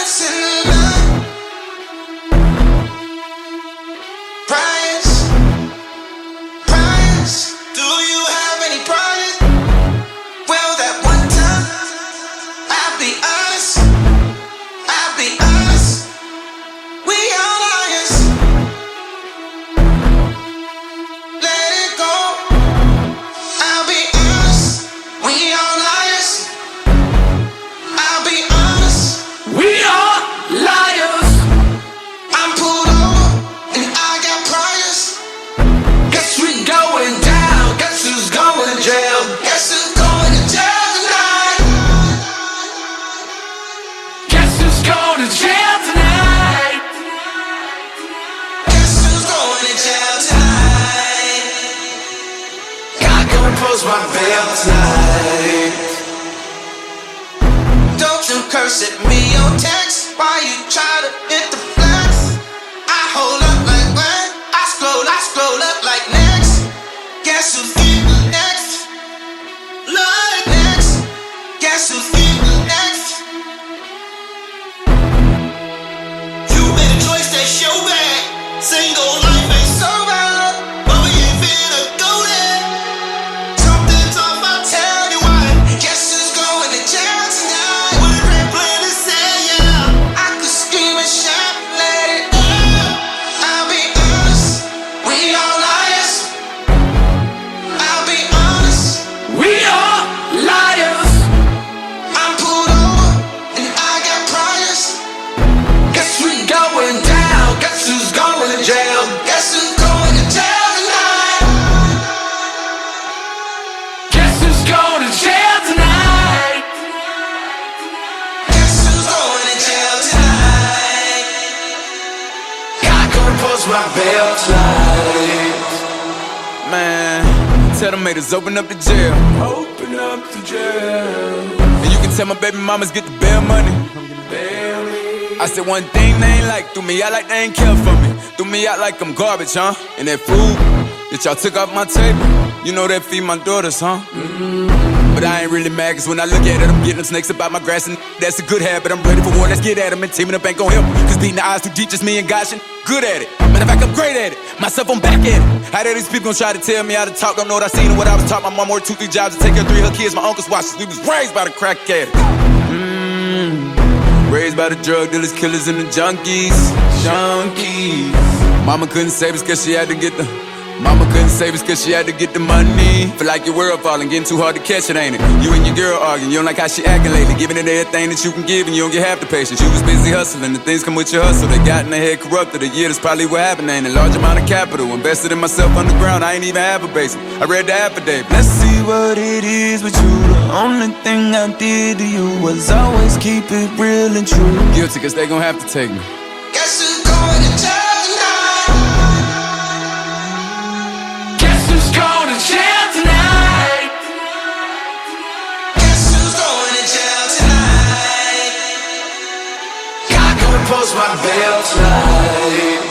My bail tonight. Don't you curse at me or text while you try to hit the flex. I hold up like what? I scroll up like next. Guess who's getting next? Lord next. Guess who's getting next? You made a choice that's your bad. Single life ain't so bad, but we ain't finna go there. My bail tonight. Man, tell them haters open up the jail. Open up the jail. And you can tell my baby mamas get the bail money. I said one thing they ain't like, threw me out like they ain't care for me. Threw me out like I'm garbage, huh? And that food that y'all took off my table, you know that feed my daughters, huh? But I ain't really mad, cause when I look at it, I'm getting them snakes up out my grass, and that's a good habit. I'm ready for war, let's get at them, and teaming up ain't gon' help. Cause beating the odds too deep, just me and gosh, good at it. Matter of fact, I'm great at it. Myself, I'm back at it. How dare these people gon' try to tell me how to talk? Don't know what I seen and what I was taught. My mom worked 2-3 jobs to take care of 3 of her kids. My uncles watched us. We was raised by the crack addicts. Raised by the drug dealers, killers, and the junkies. Mama couldn't save us cause she had to get the money. Feel like your world falling, getting too hard to catch it, ain't it? You and your girl arguing, you don't like how she acting lately. Giving it everything that you can give and you don't get half the patience. You was busy hustling, the things come with your hustle. They got in their head corrupted, a year, that's probably what happened. Ain't a large amount of capital invested in myself underground, I ain't even have a basement. I read the affidavit. Let's see what it is with you. The only thing I did to you was always keep it real and true. Guilty cause they gon' have to take me. Guess who's going to jail tonight? Guess who's going to jail tonight? Guess who's going to jail tonight? God gonna post my bail tonight.